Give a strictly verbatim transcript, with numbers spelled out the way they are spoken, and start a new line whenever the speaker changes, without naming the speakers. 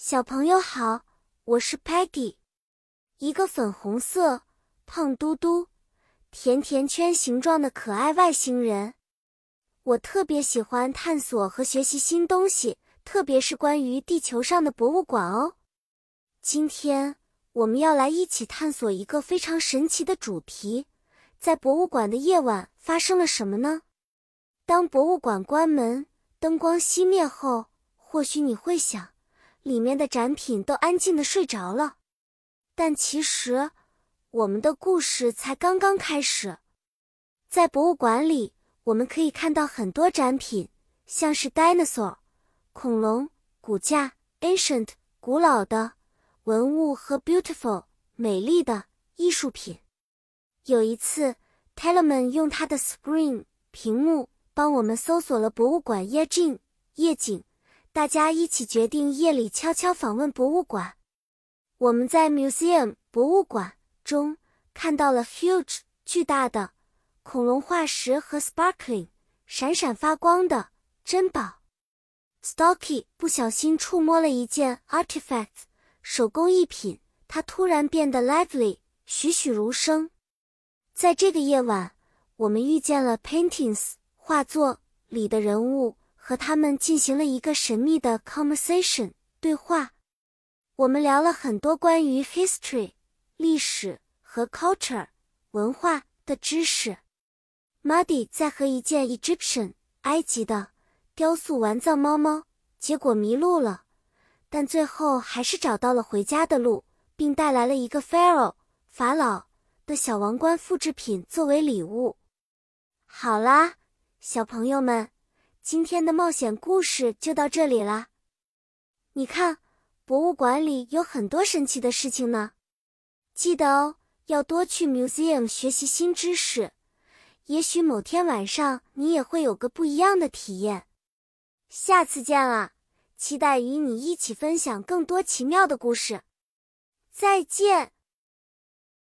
小朋友好，我是 Peggy， 一个粉红色、胖嘟嘟、甜甜圈形状的可爱外星人。我特别喜欢探索和学习新东西，特别是关于地球上的博物馆哦。今天我们要来一起探索一个非常神奇的主题，在博物馆的夜晚发生了什么呢？当博物馆关门，灯光熄灭后，或许你会想，里面的展品都安静地睡着了。但其实，我们的故事才刚刚开始。在博物馆里，我们可以看到很多展品，像是 dinosaur 恐龙、骨架 ancient 古老的文物和 beautiful 美丽的艺术品。有一次 Telemann 用他的 screen 屏幕帮我们搜索了博物馆夜景夜景，大家一起决定夜里悄悄访问博物馆。我们在 museum 博物馆中看到了 huge 巨大的恐龙化石和 sparkling 闪闪发光的珍宝。Stocky 不小心触摸了一件 artifact 手工艺品，它突然变得 lively 栩栩如生。在这个夜晚，我们遇见了 paintings 画作里的人物，和他们进行了一个神秘的 conversation 对话。我们聊了很多关于 history 历史和 culture 文化的知识。Muddy 在和一件 Egyptian 埃及的雕塑玩藏猫猫，结果迷路了，但最后还是找到了回家的路，并带来了一个 Pharaoh 法老的小王冠复制品作为礼物。好啦，小朋友们，今天的冒险故事就到这里啦。你看，博物馆里有很多神奇的事情呢。记得哦，要多去 museum 学习新知识。也许某天晚上你也会有个不一样的体验。下次见啊，期待与你一起分享更多奇妙的故事。再见。